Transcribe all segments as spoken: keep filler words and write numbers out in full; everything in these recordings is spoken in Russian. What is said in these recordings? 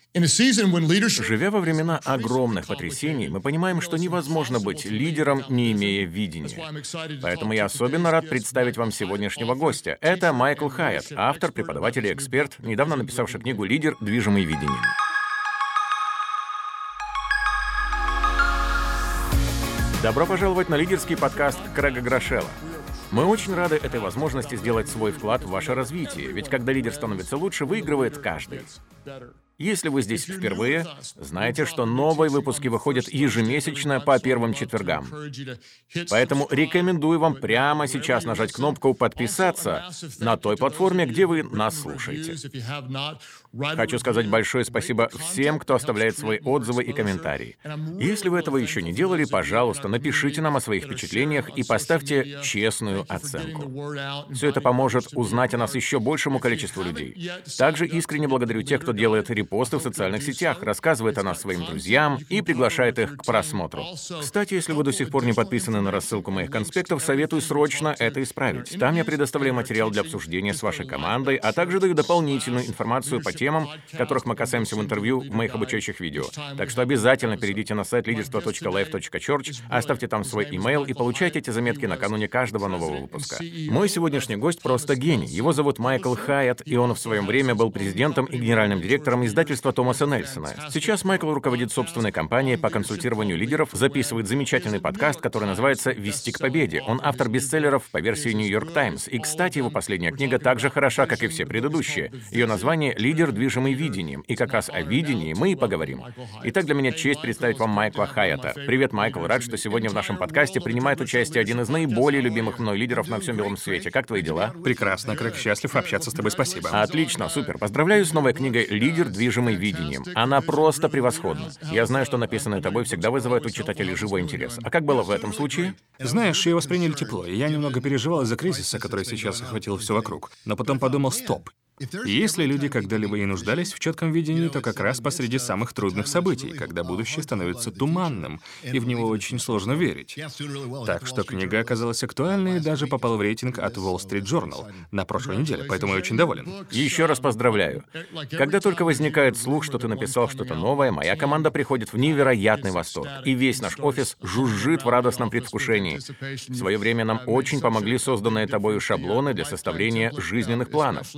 Живя во времена огромных потрясений, мы понимаем, что невозможно быть лидером, не имея видения. Поэтому я особенно рад представить вам сегодняшнего гостя. Это Майкл Хайетт, автор, преподаватель и эксперт, недавно написавший книгу «Лидер, движимый видением». Добро пожаловать на лидерский подкаст Крэга Грошелла. Мы очень рады этой возможности сделать свой вклад в ваше развитие, ведь когда лидер становится лучше, выигрывает каждый. Если вы здесь впервые, знайте, что новые выпуски выходят ежемесячно по первым четвергам. Поэтому рекомендую вам прямо сейчас нажать кнопку «Подписаться» на той платформе, где вы нас слушаете. Хочу сказать большое спасибо всем, кто оставляет свои отзывы и комментарии. Если вы этого еще не делали, пожалуйста, напишите нам о своих впечатлениях и поставьте честную оценку. Все это поможет узнать о нас еще большему количеству людей. Также искренне благодарю тех, кто делает репосты в социальных сетях, рассказывает о нас своим друзьям и приглашает их к просмотру. Кстати, если вы до сих пор не подписаны на рассылку моих конспектов, советую срочно это исправить. Там я предоставляю материал для обсуждения с вашей командой, а также даю дополнительную информацию по темам, которых мы касаемся в интервью в моих обучающих видео. Так что обязательно перейдите на сайт лидерство точка лайф точка чёрч, оставьте там свой имейл и получайте эти заметки накануне каждого нового выпуска. Мой сегодняшний гость просто гений. Его зовут Майкл Хайетт, и он в своем время был президентом и генеральным директором издательства Томаса Нельсона. Сейчас Майкл руководит собственной компанией по консультированию лидеров, записывает замечательный подкаст, который называется «Вести к победе». Он автор бестселлеров по версии Нью-Йорк Таймс. И, кстати, его последняя книга так же хороша, как и все предыдущие. Ее название «Лидер, движимый видением». И как раз о видении мы и поговорим. Итак, для меня честь представить вам Майкла Хайетта. Привет, Майкл. Рад, что сегодня в нашем подкасте принимает участие один из наиболее любимых мной лидеров на всем белом свете. Как твои дела? Прекрасно, Крэг. Счастлив общаться с тобой. Спасибо. Отлично, супер. Поздравляю с новой книгой «Лидер, движимый видением». Она просто превосходна. Я знаю, что написанное тобой всегда вызывает у читателей живой интерес. А как было в этом случае? Знаешь, ее восприняли тепло, и я немного переживал из-за кризиса, который сейчас охватил все вокруг. Но потом подумал, стоп. Если люди когда-либо и нуждались в четком видении, то как раз посреди самых трудных событий, когда будущее становится туманным, и в него очень сложно верить. Так что книга оказалась актуальной и даже попала в рейтинг от Wall Street Journal на прошлой неделе, поэтому я очень доволен. Еще раз поздравляю. Когда только возникает слух, что ты написал что-то новое, моя команда приходит в невероятный восторг, и весь наш офис жужжит в радостном предвкушении. В свое время нам очень помогли созданные тобою шаблоны для составления жизненных планов.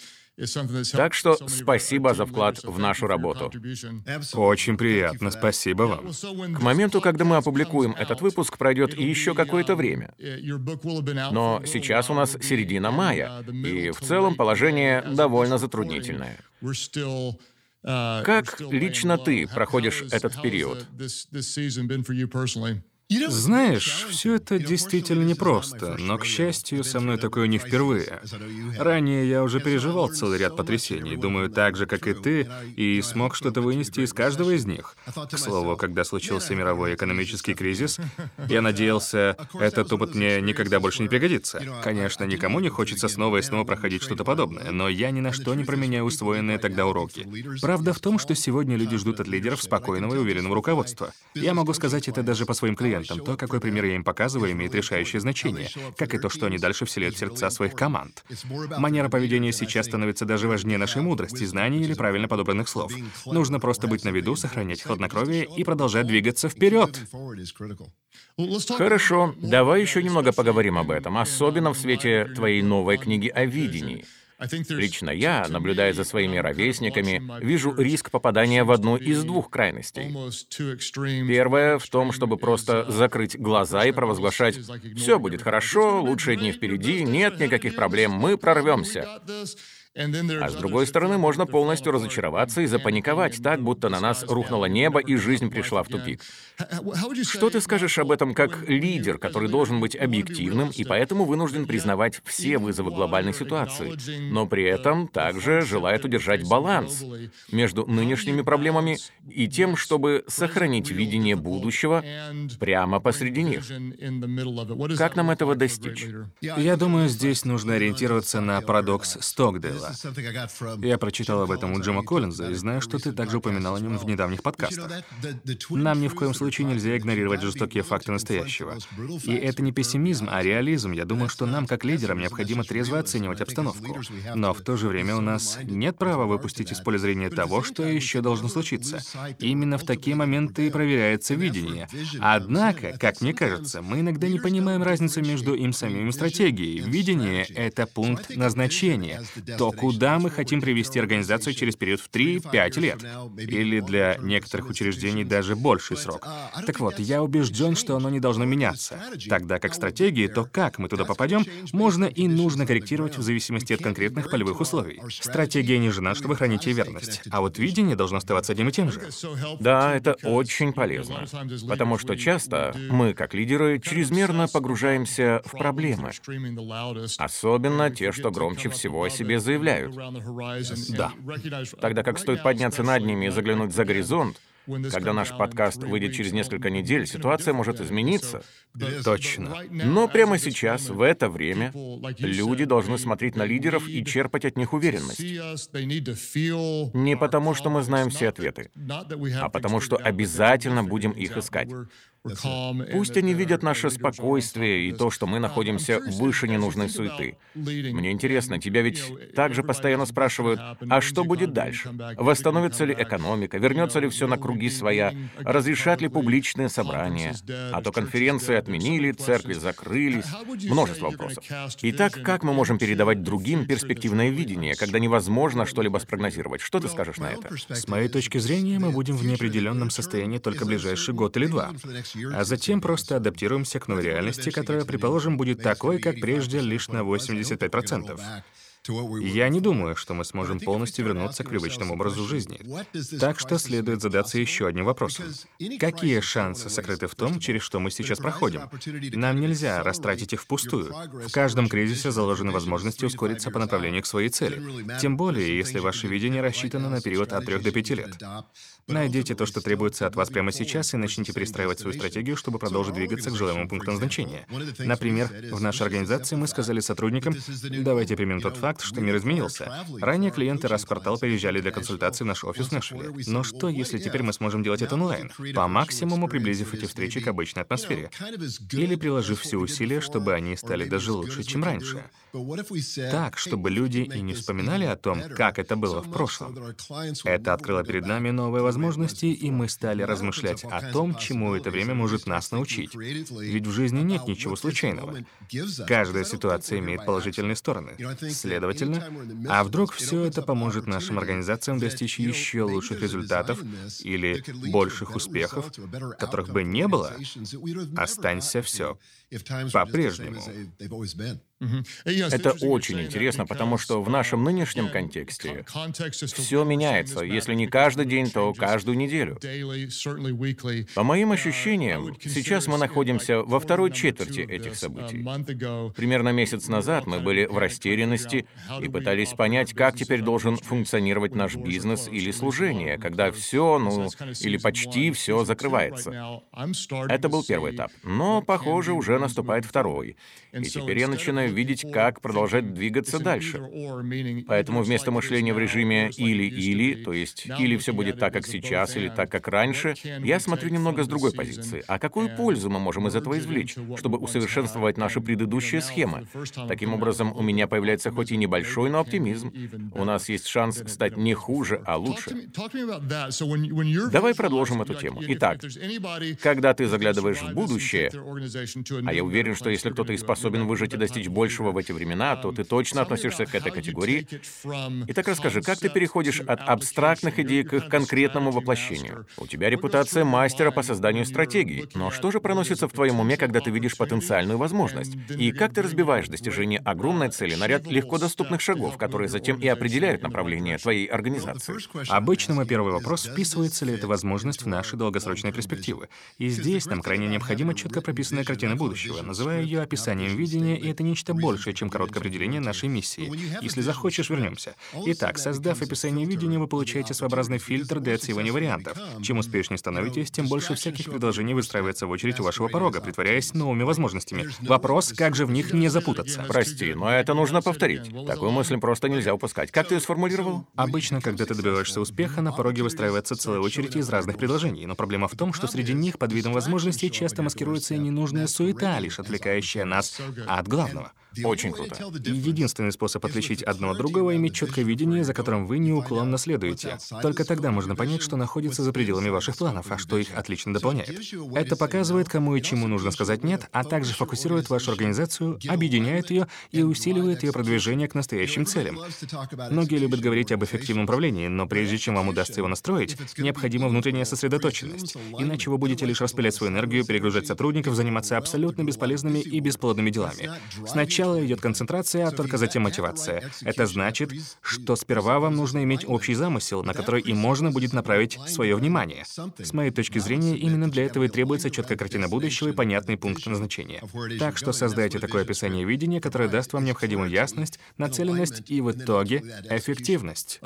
Так что спасибо за вклад в нашу работу. Очень приятно, спасибо вам. К моменту, когда мы опубликуем этот выпуск, пройдет еще какое-то время. Но сейчас у нас середина мая, и в целом положение довольно затруднительное. Как лично ты проходишь этот период? Знаешь, все это действительно непросто, но, к счастью, со мной такое не впервые. Ранее я уже переживал целый ряд потрясений, думаю, так же, как и ты, и смог что-то вынести из каждого из них. К слову, когда случился мировой экономический кризис, я надеялся, этот опыт мне никогда больше не пригодится. Конечно, никому не хочется снова и снова проходить что-то подобное, но я ни на что не променяю усвоенные тогда уроки. Правда в том, что сегодня люди ждут от лидеров спокойного и уверенного руководства. Я могу сказать это даже по своим клиентам. То, какой пример я им показываю, имеет решающее значение, как и то, что они дальше вселяют в сердца своих команд. Манера поведения сейчас становится даже важнее нашей мудрости, знаний или правильно подобранных слов. Нужно просто быть на виду, сохранять хладнокровие и продолжать двигаться вперед. Хорошо, давай еще немного поговорим об этом, особенно в свете твоей новой книги о видении. Лично я, наблюдая за своими ровесниками, вижу риск попадания в одну из двух крайностей. Первое в том, чтобы просто закрыть глаза и провозглашать «все будет хорошо, лучшие дни впереди, нет никаких проблем, мы прорвемся». А с другой стороны, можно полностью разочароваться и запаниковать так, будто на нас рухнуло небо и жизнь пришла в тупик. Что ты скажешь об этом как лидер, который должен быть объективным и поэтому вынужден признавать все вызовы глобальной ситуации, но при этом также желает удержать баланс между нынешними проблемами и тем, чтобы сохранить видение будущего прямо посреди них? Как нам этого достичь? Я думаю, здесь нужно ориентироваться на парадокс Стокдейла. дела. Я прочитал об этом у Джима Коллинза и знаю, что ты также упоминал о нем в недавних подкастах. Нам ни в коем случае нельзя игнорировать жестокие факты настоящего. И это не пессимизм, а реализм. Я думаю, что нам, как лидерам, необходимо трезво оценивать обстановку. Но в то же время у нас нет права выпустить из поля зрения того, что еще должно случиться. Именно в такие моменты и проверяется видение. Однако, как мне кажется, мы иногда не понимаем разницу между им самим и стратегией. Видение — это пункт назначения. То, куда мы хотим привести организацию через период в три-пять лет. Или для некоторых учреждений даже больший срок. Так вот, я убежден, что оно не должно меняться. Тогда как стратегии, то как мы туда попадем, можно и нужно корректировать в зависимости от конкретных полевых условий. Стратегия не жена, чтобы хранить ей верность. А вот видение должно оставаться одним и тем же. Да, это очень полезно. Потому что часто мы, как лидеры, чрезмерно погружаемся в проблемы. Особенно те, что громче всего о себе заявляют. Да. Тогда как стоит подняться над ними и заглянуть за горизонт, когда наш подкаст выйдет через несколько недель, ситуация может измениться. Точно. Но прямо сейчас, в это время, люди должны смотреть на лидеров и черпать от них уверенность. Не потому, что мы знаем все ответы, а потому, что обязательно будем их искать. Пусть они видят наше спокойствие и то, что мы находимся выше ненужной суеты. Мне интересно, тебя ведь также постоянно спрашивают, а что будет дальше? Восстановится ли экономика? Вернется ли все на круги своя? Разрешат ли публичные собрания? А то конференции отменили, церкви закрылись. Множество вопросов. Итак, как мы можем передавать другим перспективное видение, когда невозможно что-либо спрогнозировать? Что ты скажешь на это? С моей точки зрения, мы будем в неопределенном состоянии только ближайший год или два. А затем просто адаптируемся к новой реальности, которая, предположим, будет такой, как прежде, лишь на восемьдесят пять процентов. Я не думаю, что мы сможем полностью вернуться к привычному образу жизни. Так что следует задаться еще одним вопросом. Какие шансы сокрыты в том, через что мы сейчас проходим? Нам нельзя растратить их впустую. В каждом кризисе заложены возможности ускориться по направлению к своей цели. Тем более, если ваше видение рассчитано на период от трех до пяти лет. Найдите то, что требуется от вас прямо сейчас, и начните перестраивать свою стратегию, чтобы продолжить двигаться к желаемому пункту назначения. Например, в нашей организации мы сказали сотрудникам, давайте примем тот факт, что мир изменился. Ранее клиенты раз в квартал приезжали для консультации в наш офис в Нэшвилле. Но что, если теперь мы сможем делать это онлайн, по максимуму приблизив эти встречи к обычной атмосфере? Или приложив все усилия, чтобы они стали даже лучше, чем раньше? Так, чтобы люди и не вспоминали о том, как это было в прошлом. Это открыло перед нами новые возможности, и мы стали размышлять о том, чему это время может нас научить. Ведь в жизни нет ничего случайного. Каждая ситуация имеет положительные стороны. Следовательно, а вдруг все это поможет нашим организациям достичь еще лучших результатов или больших успехов, которых бы не было, останься все по-прежнему. Это очень интересно, потому что в нашем нынешнем контексте все меняется, если не каждый день, то каждую неделю. По моим ощущениям, сейчас мы находимся во второй четверти этих событий. Примерно месяц назад мы были в растерянности и пытались понять, как теперь должен функционировать наш бизнес или служение, когда все, ну, или почти все закрывается. Это был первый этап. Но, похоже, уже наступает второй. И теперь я начинаю видеть, как продолжать двигаться дальше. Поэтому вместо мышления в режиме «или-или», то есть «или все будет так, как сейчас, или так, как раньше», я смотрю немного с другой позиции. А какую пользу мы можем из этого извлечь, чтобы усовершенствовать наши предыдущие схемы? Таким образом, у меня появляется хоть и небольшой, но оптимизм. У нас есть шанс стать не хуже, а лучше. Давай продолжим эту тему. Итак, когда ты заглядываешь в будущее, а я уверен, что если кто-то и способен выжить и достичь большего в эти времена, то ты точно относишься к этой категории. Итак, расскажи, как ты переходишь от абстрактных идей к их конкретному воплощению? У тебя репутация мастера по созданию стратегий, но что же проносится в твоем уме, когда ты видишь потенциальную возможность? И как ты разбиваешь достижение огромной цели на ряд легко доступных шагов, которые затем и определяют направление твоей организации? Обычно мой первый вопрос — вписывается ли эта возможность в наши долгосрочные перспективы? И здесь нам крайне необходима четко прописанная картина будущего. Называю ее описанием видения, и это нечто нечто большее, чем короткое определение нашей миссии. Если захочешь, вернемся. Итак, создав описание видения, вы получаете своеобразный фильтр для отсеивания вариантов. Чем успешнее становитесь, тем больше всяких предложений выстраивается в очередь у вашего порога, притворяясь новыми возможностями. Вопрос, как же в них не запутаться? Прости, но это нужно повторить. Такую мысль просто нельзя упускать. Как ты ее сформулировал? Обычно, когда ты добиваешься успеха, на пороге выстраивается целая очередь из разных предложений. Но проблема в том, что среди них под видом возможностей часто маскируется и ненужная суета, лишь отвлекающая нас от главного. Очень круто. И единственный способ отличить одно от другого — иметь четкое видение, за которым вы неуклонно следуете. Только тогда можно понять, что находится за пределами ваших планов, а что их отлично дополняет. Это показывает, кому и чему нужно сказать «нет», а также фокусирует вашу организацию, объединяет ее и усиливает ее продвижение к настоящим целям. Многие любят говорить об эффективном управлении, но прежде чем вам удастся его настроить, необходима внутренняя сосредоточенность. Иначе вы будете лишь распылять свою энергию, перегружать сотрудников, заниматься абсолютно бесполезными и бесплодными делами. Сначала идет концентрация, а только затем мотивация. Это значит, что сперва вам нужно иметь общий замысел, на который и можно будет направить свое внимание. С моей точки зрения, именно для этого и требуется четкая картина будущего и понятный пункт назначения. Так что создайте такое описание видения, которое даст вам необходимую ясность, нацеленность и в итоге эффективность.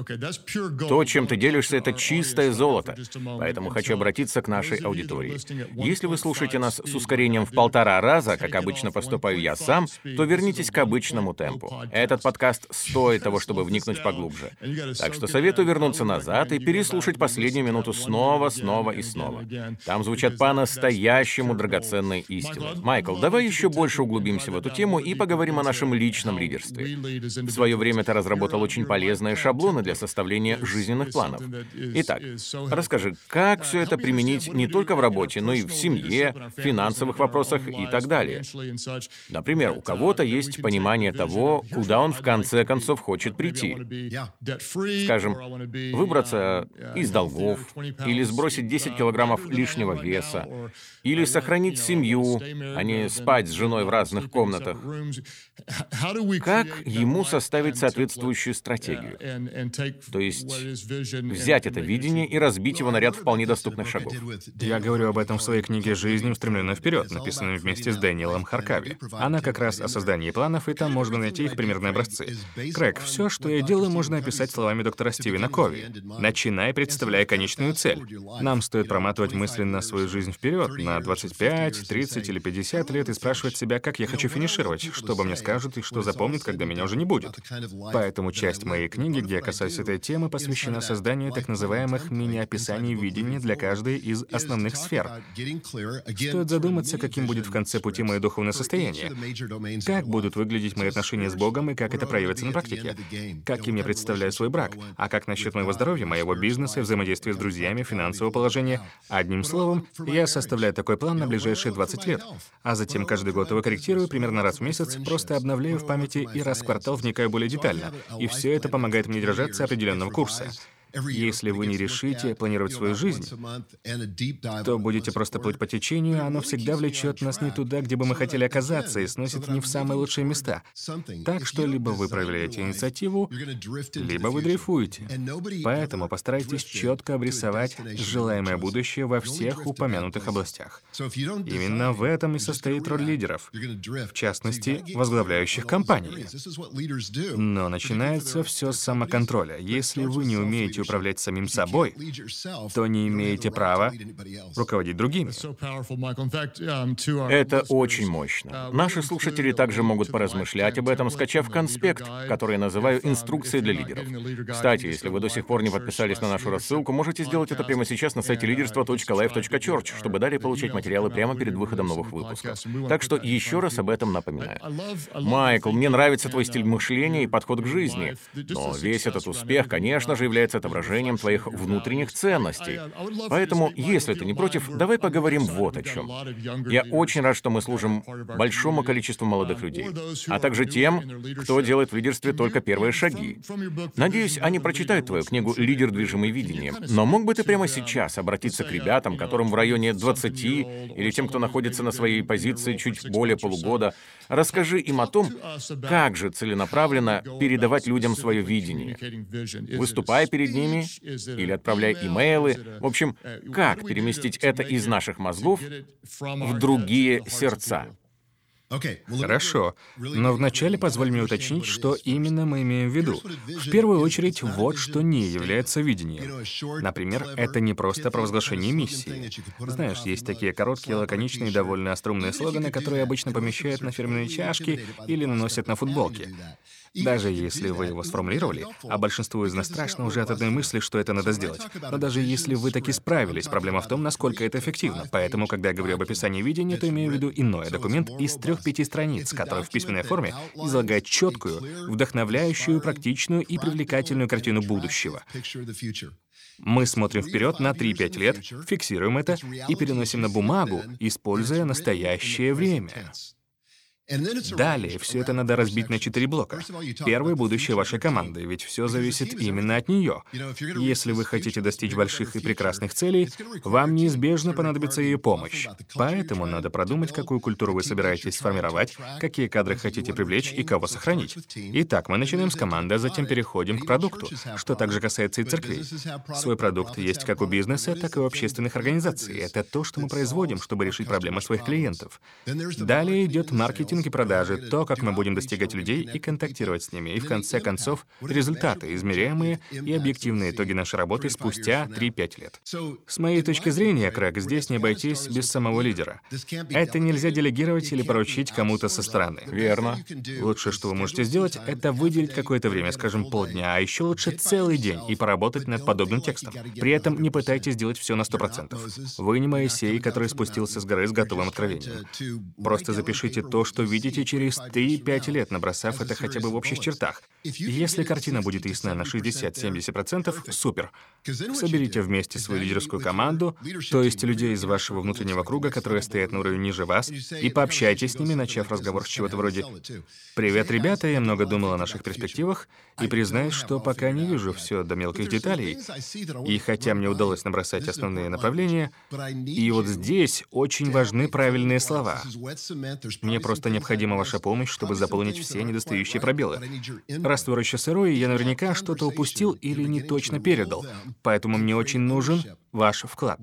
То, чем ты делишься, это чистое золото. Поэтому хочу обратиться к нашей аудитории. Если вы слушаете нас с ускорением в полтора раза, как обычно поступаю я сам, то вернитесь к обычному темпу. Этот подкаст стоит того, чтобы вникнуть поглубже. Так что советую вернуться назад и переслушать последнюю минуту снова, снова и снова. Там звучат по-настоящему драгоценные истины. Майкл, давай еще больше углубимся в эту тему и поговорим о нашем личном лидерстве. В свое время ты разработал очень полезные шаблоны для составления жизненных планов. Итак, расскажи, как все это применить не только в работе, но и в семье, финансовых вопросах и так далее. Например, у кого-то есть понимание того, куда он в конце концов хочет прийти. Скажем, выбраться из долгов, или сбросить десять килограммов лишнего веса, или сохранить семью, а не спать с женой в разных комнатах. Как ему составить соответствующую стратегию? То есть взять это видение и разбить его на ряд вполне доступных шагов. Я говорю об этом в своей книге «Жизнь, устремленная вперед», написанной вместе с Дэниелом Харкави. Она как раз о создании планов, и там можно найти их примерные образцы. Крэг, все, что я делаю, можно описать словами доктора Стивена Кови. Начинай, представляя конечную цель. Нам стоит проматывать мысленно свою жизнь вперед на двадцать пять, тридцать или пятьдесят лет и спрашивать себя, как я хочу финишировать, что обо мне скажут и что запомнят, когда меня уже не будет. Поэтому часть моей книги, где я касаюсь этой темы, посвящена созданию так называемых мини-описаний видения для каждой из основных сфер. Стоит задуматься, каким будет в конце пути мое духовное состояние. Как будут выглядеть мои отношения с Богом и как это проявится на практике? Каким я представляю свой брак? А как насчет моего здоровья, моего бизнеса, взаимодействия с друзьями, финансового положения? Одним словом, я составляю такой план на ближайшие двадцать лет. А затем каждый год его корректирую примерно раз в месяц, просто обновляю в памяти и раз в квартал вникаю более детально. И все это помогает мне держаться определенного курса. Если вы не решите планировать свою жизнь, то будете просто плыть по течению, а оно всегда влечет нас не туда, где бы мы хотели оказаться, и сносит не в самые лучшие места. Так что либо вы проявляете инициативу, либо вы дрейфуете. Поэтому постарайтесь четко обрисовать желаемое будущее во всех упомянутых областях. Именно в этом и состоит роль лидеров, в частности, возглавляющих компании. Но начинается все с самоконтроля. Если вы не умеете управлять самим собой, то не имеете права руководить другими. Это очень мощно. Наши слушатели также могут поразмышлять об этом, скачав конспект, который я называю «Инструкцией для лидеров». Кстати, если вы до сих пор не подписались на нашу рассылку, можете сделать это прямо сейчас на сайте лидерство точка лайф точка чёрч, чтобы далее получать материалы прямо перед выходом новых выпусков. Так что еще раз об этом напоминаю. Майкл, мне нравится твой стиль мышления и подход к жизни, но весь этот успех, конечно же, является отображением твоих внутренних ценностей. Поэтому, если ты не против, давай поговорим вот о чем. Я очень рад, что мы служим большому количеству молодых людей, а также тем, кто делает в лидерстве только первые шаги. Надеюсь, они прочитают твою книгу «Лидер, движимый видением». Но мог бы ты прямо сейчас обратиться к ребятам, которым в районе двадцати, или тем, кто находится на своей позиции чуть более полугода, расскажи им о том, как же целенаправленно передавать людям свое видение. Выступая перед ними или отправляя имейлы. В общем, как переместить это из наших мозгов в другие сердца? Хорошо, но вначале позволь мне уточнить, что именно мы имеем в виду. В первую очередь, вот что не является видением. Например, это не просто провозглашение миссии. Знаешь, есть такие короткие, лаконичные, довольно остроумные слоганы, которые обычно помещают на фирменные чашки или наносят на футболки. Даже если вы его сформулировали, а большинству из нас страшно уже от одной мысли, что это надо сделать. Но даже если вы таки справились, проблема в том, насколько это эффективно. Поэтому, когда я говорю об описании видения, то имею в виду иной документ из трех-пяти страниц, который в письменной форме излагает четкую, вдохновляющую, практичную и привлекательную картину будущего. Мы смотрим вперед на три-пять лет, фиксируем это и переносим на бумагу, используя настоящее время. Далее все это надо разбить на четыре блока. Первый — будущее вашей команды, ведь все зависит именно от нее. Если вы хотите достичь больших и прекрасных целей, вам неизбежно понадобится ее помощь. Поэтому надо продумать, какую культуру вы собираетесь сформировать, какие кадры хотите привлечь и кого сохранить. Итак, мы начинаем с команды, а затем переходим к продукту, что также касается и церквей. Свой продукт есть как у бизнеса, так и у общественных организаций. Это то, что мы производим, чтобы решить проблемы своих клиентов. Далее идет маркетинг и продажи, то, как мы будем достигать людей и контактировать с ними, и в конце концов результаты, измеряемые и объективные итоги нашей работы спустя три-пять лет. С моей точки зрения, Крэг, здесь не обойтись без самого лидера. Это нельзя делегировать или поручить кому-то со стороны. Верно. Лучшее, что вы можете сделать, это выделить какое-то время, скажем, полдня, а еще лучше целый день, и поработать над подобным текстом. При этом не пытайтесь сделать все на сто процентов. Вы не Моисей, который спустился с горы с готовым откровением. Просто запишите то, что видите через три-пять лет, набросав это хотя бы в общих чертах. Если картина будет ясна на шестьдесят-семьдесят процентов, супер. Соберите вместе свою лидерскую команду, то есть людей из вашего внутреннего круга, которые стоят на уровне ниже вас, и пообщайтесь с ними, начав разговор с чего-то вроде «Привет, ребята, я много думал о наших перспективах, и признаюсь, что пока не вижу все до мелких деталей, и хотя мне удалось набросать основные направления, и вот здесь очень важны правильные слова. Мне просто необходима ваша помощь, чтобы заполнить все недостающие пробелы. Раствор еще сырой, и я наверняка что-то упустил или не точно передал, поэтому мне очень нужен ваш вклад».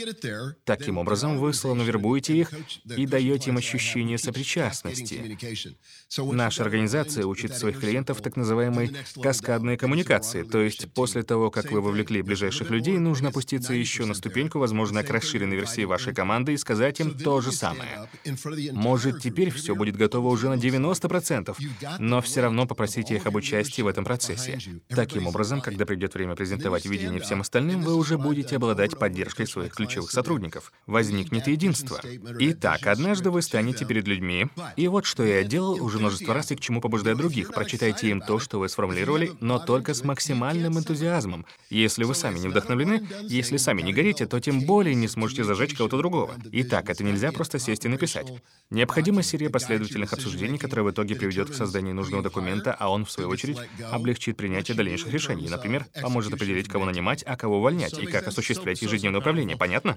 Таким образом, вы словно вербуете их и даете им ощущение сопричастности. Наша организация учит своих клиентов так называемой каскадной коммуникации, то есть после того, как вы вовлекли ближайших людей, нужно опуститься еще на ступеньку, возможно, к расширенной версии вашей команды и сказать им то же самое. Может, теперь все будет готово уже на девяносто процентов, но все равно попросите их об участии в этом процессе. Таким образом, когда придет время презентовать видение всем остальным, вы уже будете обладать поддержкой своих ключевых сотрудников. Возникнет единство. Итак, однажды вы станете перед людьми, и вот что я делал уже множество раз и к чему побуждаю других. Прочитайте им то, что вы сформулировали, но только с максимальным энтузиазмом. Если вы сами не вдохновлены, если сами не горите, то тем более не сможете зажечь кого-то другого. Итак, это нельзя просто сесть и написать. Необходима серия последовательных обсуждений, которая в итоге приведет к созданию нужного документа, а он, в свою очередь, облегчит принятие дальнейших решений. Например, поможет определить, кого нанимать, а кого увольнять, и как осуществлять ежедневное управление. Понятно?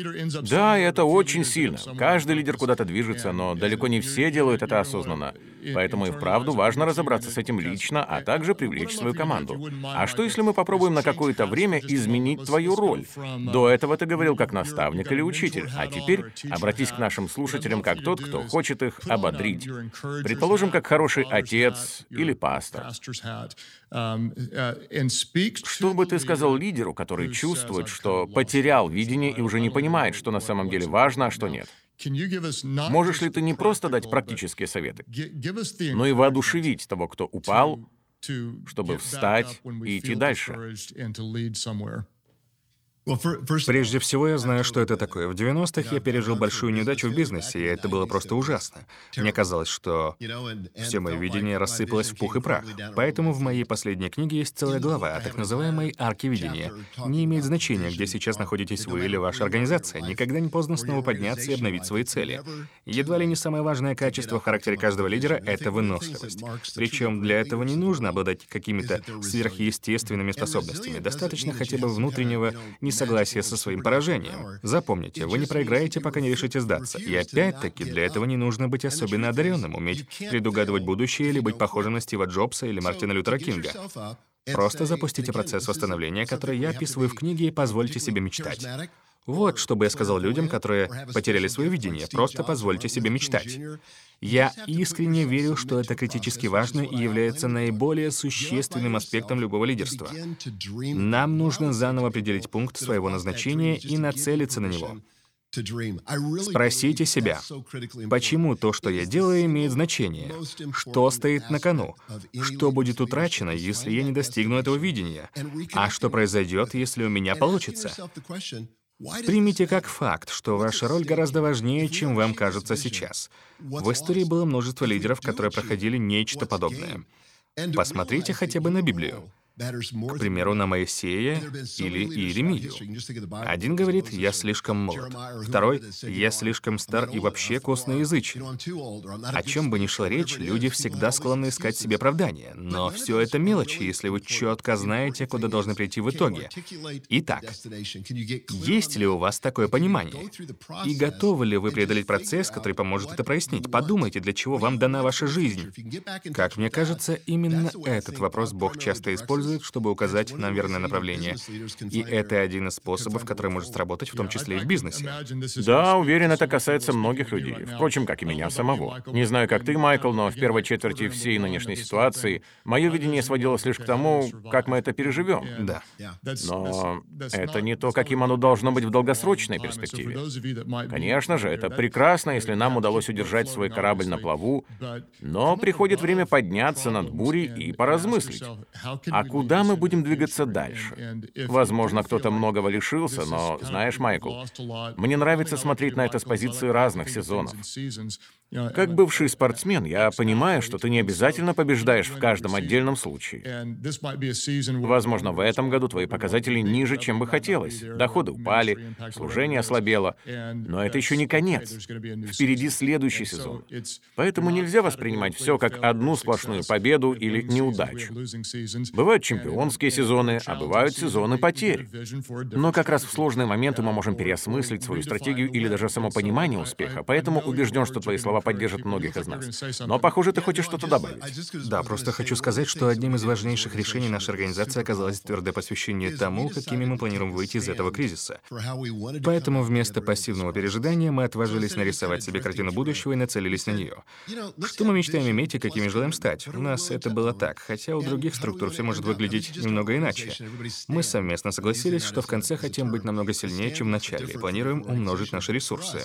Да, это очень сильно. Каждый лидер куда-то движется, но далеко не все делают это осознанно. Поэтому и вправду важно разобраться с этим лично, а также привлечь свою команду. А что, если мы попробуем на какое-то время изменить твою роль? До этого ты говорил как наставник или учитель, а теперь обратись к нашим слушателям как тот, кто хочет их ободрить. Предположим, как хороший отец или пастор. Что бы ты сказал лидеру, который чувствует, что потерял видение и уже не понимает, что на самом деле важно, а что нет? Можешь ли ты не просто дать практические советы, но и воодушевить того, кто упал, чтобы встать и идти дальше? Прежде всего, я знаю, что это такое. В девяностых я пережил большую неудачу в бизнесе, и это было просто ужасно. Мне казалось, что все мое видение рассыпалось в пух и прах. Поэтому в моей последней книге есть целая глава о так называемой арке видения. Не имеет значения, где сейчас находитесь вы или ваша организация. Никогда не поздно снова подняться и обновить свои цели. Едва ли не самое важное качество в характере каждого лидера — это выносливость. Причем для этого не нужно обладать какими-то сверхъестественными способностями. Достаточно хотя бы внутреннего несогласия со своим поражением. Запомните, вы не проиграете, пока не решите сдаться. И опять-таки, для этого не нужно быть особенно одаренным, уметь предугадывать будущее или быть похожим на Стива Джобса или Мартина Лютера Кинга. Просто запустите процесс восстановления, который я описываю в книге, и позвольте себе мечтать. Вот что бы я сказал людям, которые потеряли свое видение. Просто позвольте себе мечтать. Я искренне верю, что это критически важно и является наиболее существенным аспектом любого лидерства. Нам нужно заново определить пункт своего назначения и нацелиться на него. Спросите себя, почему то, что я делаю, имеет значение? Что стоит на кону? Что будет утрачено, если я не достигну этого видения? А что произойдет, если у меня получится? Примите как факт, что ваша роль гораздо важнее, чем вам кажется сейчас. В истории было множество лидеров, которые проходили нечто подобное. Посмотрите хотя бы на Библию. К примеру, на Моисея или Иеремию. Один говорит: «Я слишком молод». Второй: «Я слишком стар и вообще косноязычен». О чем бы ни шла речь, люди всегда склонны искать себе оправдания. Но все это мелочи, если вы четко знаете, куда должны прийти в итоге. Итак, есть ли у вас такое понимание? И готовы ли вы преодолеть процесс, который поможет это прояснить? Подумайте, для чего вам дана ваша жизнь. Как мне кажется, именно этот вопрос Бог часто использует, чтобы указать нам верное направление. И это один из способов, который может сработать, в том числе и в бизнесе. Да, уверен, это касается многих людей. Впрочем, как и меня самого. Не знаю, как ты, Майкл, но в первой четверти всей нынешней ситуации мое видение сводилось лишь к тому, как мы это переживем. Да. Но это не то, каким оно должно быть в долгосрочной перспективе. Конечно же, это прекрасно, если нам удалось удержать свой корабль на плаву, но приходит время подняться над бурей и поразмыслить. А куда мы будем двигаться дальше? Возможно, кто-то многого лишился, но, знаешь, Майкл, мне нравится смотреть на это с позиции разных сезонов. Как бывший спортсмен, я понимаю, что ты не обязательно побеждаешь в каждом отдельном случае. Возможно, в этом году твои показатели ниже, чем бы хотелось. Доходы упали, служение ослабело. Но это еще не конец. Впереди следующий сезон. Поэтому нельзя воспринимать все как одну сплошную победу или неудачу. Бывают чемпионские сезоны, а бывают сезоны потерь. Но как раз в сложные моменты мы можем переосмыслить свою стратегию или даже само понимание успеха. Поэтому убежден, что твои слова поддержат многих из нас. Но, похоже, ты хочешь что-то добавить. Да, просто хочу сказать, что одним из важнейших решений нашей организации оказалось твердое посвящение тому, какими мы планируем выйти из этого кризиса. Поэтому вместо пассивного пережидания мы отважились нарисовать себе картину будущего и нацелились на нее. Что мы мечтаем иметь и какими желаем стать? У нас это было так, хотя у других структур все может выглядеть немного иначе. Мы совместно согласились, что в конце хотим быть намного сильнее, чем в начале, и планируем умножить наши ресурсы.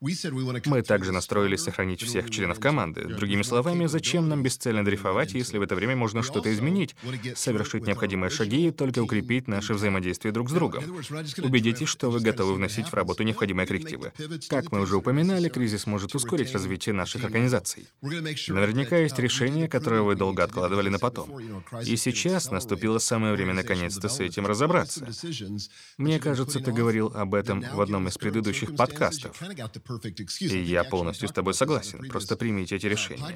Мы также настроились сохранить всех членов команды. Другими словами, зачем нам бесцельно дрейфовать, если в это время можно что-то изменить, совершить необходимые шаги и только укрепить наше взаимодействие друг с другом? Убедитесь, что вы готовы вносить в работу необходимые коррективы. Как мы уже упоминали, кризис может ускорить развитие наших организаций. Наверняка есть решение, которое вы долго откладывали на потом. И сейчас наступило самое время наконец-то с этим разобраться. Мне кажется, ты говорил об этом в одном из предыдущих подкастов. И я полностью с тобой согласен. Просто примите эти решения.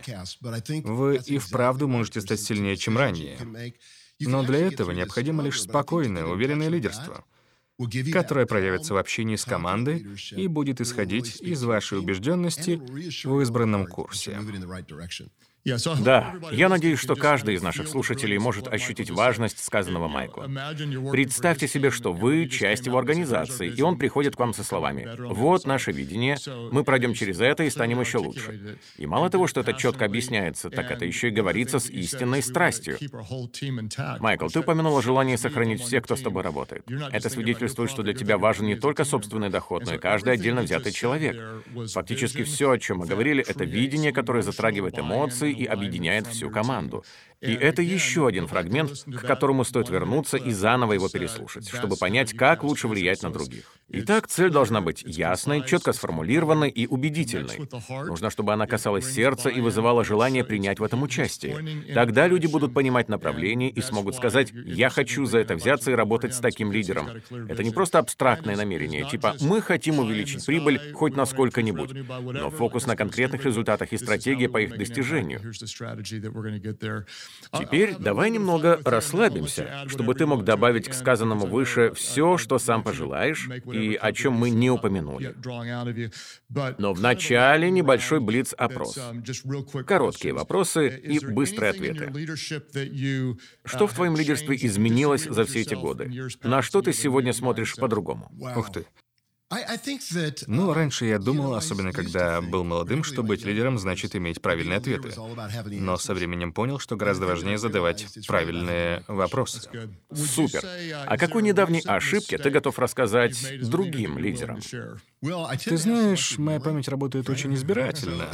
Вы и вправду можете стать сильнее, чем ранее. Но для этого необходимо лишь спокойное, уверенное лидерство, которое проявится в общении с командой и будет исходить из вашей убежденности в избранном курсе. Да, я надеюсь, что каждый из наших слушателей может ощутить важность сказанного Майкла. Представьте себе, что вы часть его организации, и он приходит к вам со словами: «Вот наше видение, мы пройдем через это и станем еще лучше». И мало того, что это четко объясняется, так это еще и говорится с истинной страстью. Майкл, ты упомянул о желании сохранить всех, кто с тобой работает. Это свидетельствует, что для тебя важен не только собственный доход, но и каждый отдельно взятый человек. Фактически все, о чем мы говорили, это видение, которое затрагивает эмоции и объединяет всю команду. И это еще один фрагмент, к которому стоит вернуться и заново его переслушать, чтобы понять, как лучше влиять на других. Итак, цель должна быть ясной, четко сформулированной и убедительной. Нужно, чтобы она касалась сердца и вызывала желание принять в этом участие. Тогда люди будут понимать направление и смогут сказать: «Я хочу за это взяться и работать с таким лидером». Это не просто абстрактное намерение, типа «мы хотим увеличить прибыль хоть на сколько-нибудь», но фокус на конкретных результатах и стратегия по их достижению. Теперь давай немного расслабимся, чтобы ты мог добавить к сказанному выше все, что сам пожелаешь, и о чем мы не упомянули. Но вначале небольшой блиц-опрос. Короткие вопросы и быстрые ответы. Что в твоем лидерстве изменилось за все эти годы? На что ты сегодня смотришь по-другому? Ух ты. Ну, раньше я думал, особенно когда был молодым, что быть лидером значит иметь правильные ответы. Но со временем понял, что гораздо важнее задавать правильные вопросы. Супер. О какой недавней ошибке ты готов рассказать другим лидерам? Ты знаешь, моя память работает очень избирательно.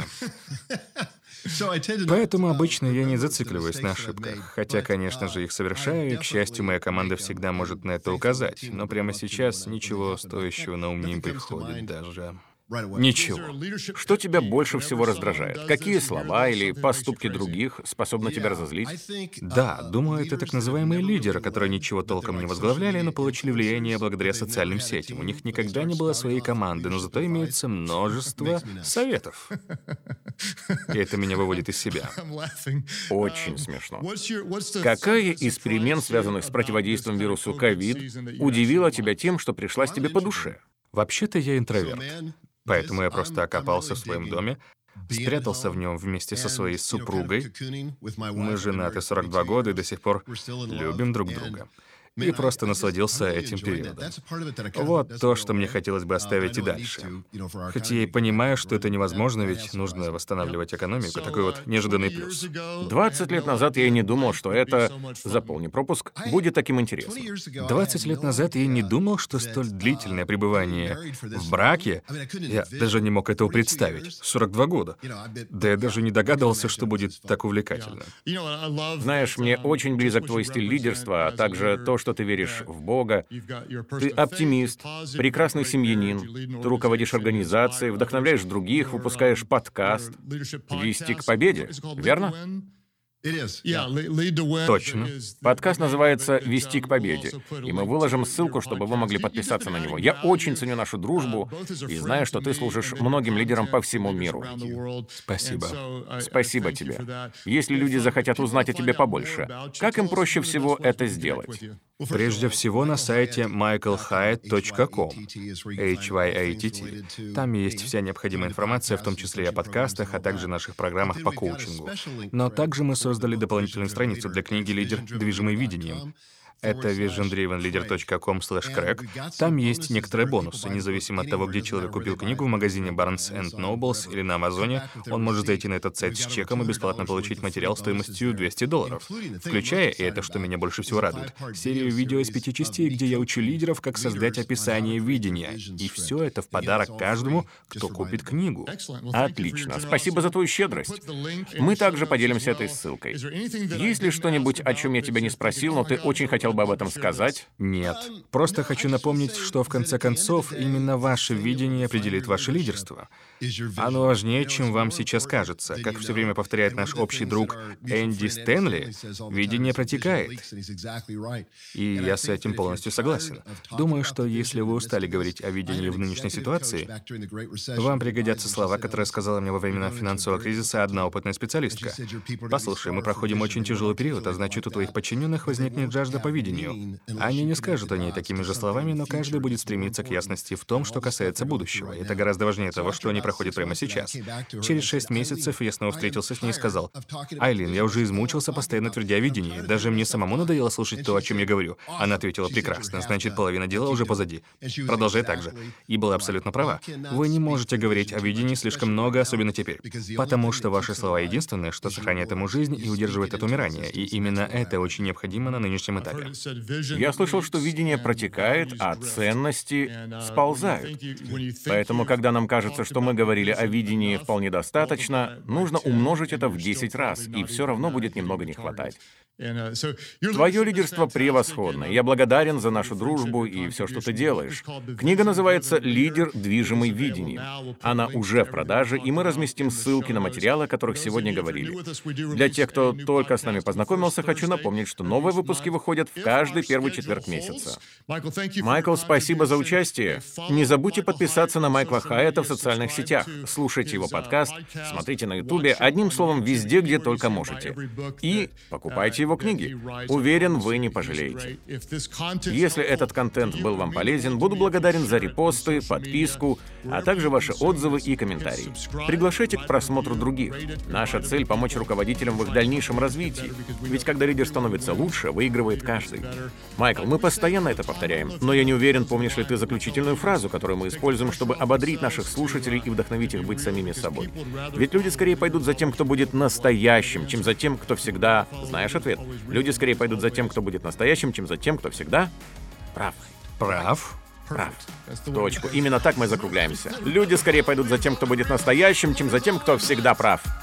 Поэтому обычно я не зацикливаюсь на ошибках. Хотя, конечно же, их совершаю, и, к счастью, моя команда всегда может на это указать. Но прямо сейчас ничего стоящего на ум не приходит даже. Ничего. Что тебя больше всего раздражает? Какие слова или поступки других способны тебя разозлить? Да, думаю, это так называемые лидеры, которые ничего толком не возглавляли, но получили влияние благодаря социальным сетям. У них никогда не было своей команды, но зато имеется множество советов. И это меня выводит из себя. Очень смешно. Какая из перемен, связанных с противодействием вирусу ковид, удивила тебя тем, что пришлась тебе по душе? Вообще-то я интроверт. Поэтому я просто окопался в своем доме, спрятался в нем вместе со своей супругой. Мы женаты сорок два года и до сих пор любим друг друга. И просто насладился этим периодом. Вот то, что мне хотелось бы оставить и дальше. Хотя я и понимаю, что это невозможно, ведь нужно восстанавливать экономику. Такой вот неожиданный плюс. двадцать лет назад я и не думал, что это, заполни пропуск, будет таким интересным. двадцать лет назад я не думал, что столь длительное пребывание в браке, я даже не мог этого представить. сорок два года. Да я даже не догадывался, что будет так увлекательно. Знаешь, мне очень близок твой стиль лидерства, а также то, что ты веришь в Бога. Ты оптимист, прекрасный семьянин, ты руководишь организацией, вдохновляешь других, выпускаешь подкаст «Вести к победе», верно? Точно. Подкаст называется «Вести к победе», и мы выложим ссылку, чтобы вы могли подписаться на него. Я очень ценю нашу дружбу и знаю, что ты служишь многим лидерам по всему миру. Спасибо. Спасибо тебе. Если люди захотят узнать о тебе побольше, как им проще всего это сделать? Прежде всего на сайте майкл хайетт точка ком, эйч вай эй ти ти. Там есть вся необходимая информация, в том числе и о подкастах, а также наших программах по коучингу. Но также мы создали дополнительную страницу для книги «Лидер, движимый видением». Это vision driven leader точка com слэш craig. Там есть некоторые бонусы. Независимо от того, где человек купил книгу, в магазине Barnes энд Nobles или на Амазоне, он может зайти на этот сайт с чеком и бесплатно получить материал стоимостью двести долларов. Включая, и это что меня больше всего радует, серию видео из пяти частей, где я учу лидеров, как создать описание видения. И все это в подарок каждому, кто купит книгу. Отлично. Спасибо за твою щедрость. Мы также поделимся этой ссылкой. Есть ли что-нибудь, о чем я тебя не спросил, но ты очень хотел бы об этом сказать? Нет. Просто хочу напомнить, что в конце концов именно ваше видение определит ваше лидерство. Оно важнее, чем вам сейчас кажется. Как все время повторяет наш общий друг Энди Стэнли, видение протекает. И я с этим полностью согласен. Думаю, что если вы устали говорить о видении в нынешней ситуации, вам пригодятся слова, которые сказала мне во времена финансового кризиса одна опытная специалистка. Послушай, мы проходим очень тяжелый период, а значит, у твоих подчиненных возникнет жажда по видению. Они не скажут о ней такими же словами, но каждый будет стремиться к ясности в том, что касается будущего. Это гораздо важнее того, что они проходят прямо сейчас. Через шесть месяцев я снова встретился с ней и сказал: «Айлин, я уже измучился, постоянно твердя о видении. Даже мне самому надоело слушать то, о чем я говорю». Она ответила: «Прекрасно, значит, половина дела уже позади. Продолжай так же». И была абсолютно права. Вы не можете говорить о видении слишком много, особенно теперь. Потому что ваши слова единственное, что сохраняет ему жизнь и удерживает от умирания. И именно это очень необходимо на нынешнем этапе. Я слышал, что видение протекает, а ценности сползают. Поэтому, когда нам кажется, что мы говорили о видении вполне достаточно, нужно умножить это в десять раз, и все равно будет немного не хватать. Твое лидерство превосходно. Я благодарен за нашу дружбу и все, что ты делаешь. Книга называется «Лидер, движимый видением». Она уже в продаже, и мы разместим ссылки на материалы, о которых сегодня говорили. Для тех, кто только с нами познакомился, хочу напомнить, что новые выпуски выходят в каждый первый четверг месяца. Майкл, спасибо за участие. Не забудьте подписаться на Майкла Хайетта в социальных сетях, слушайте его подкаст, смотрите на Ютубе, одним словом, везде, где только можете. И покупайте его его книги. Уверен, вы не пожалеете. Если этот контент был вам полезен, буду благодарен за репосты, подписку, а также ваши отзывы и комментарии. Приглашайте к просмотру других. Наша цель — помочь руководителям в их дальнейшем развитии. Ведь когда лидер становится лучше, выигрывает каждый. Майкл, мы постоянно это повторяем, но я не уверен, помнишь ли ты заключительную фразу, которую мы используем, чтобы ободрить наших слушателей и вдохновить их быть самими собой. Ведь люди скорее пойдут за тем, кто будет настоящим, чем за тем, кто всегда... Знаешь ответ? Люди скорее пойдут за тем, кто будет настоящим, чем за тем, кто всегда прав. Прав? Прав. В точку. Именно так мы закругляемся. Люди скорее пойдут за тем, кто будет настоящим, чем за тем, кто всегда прав.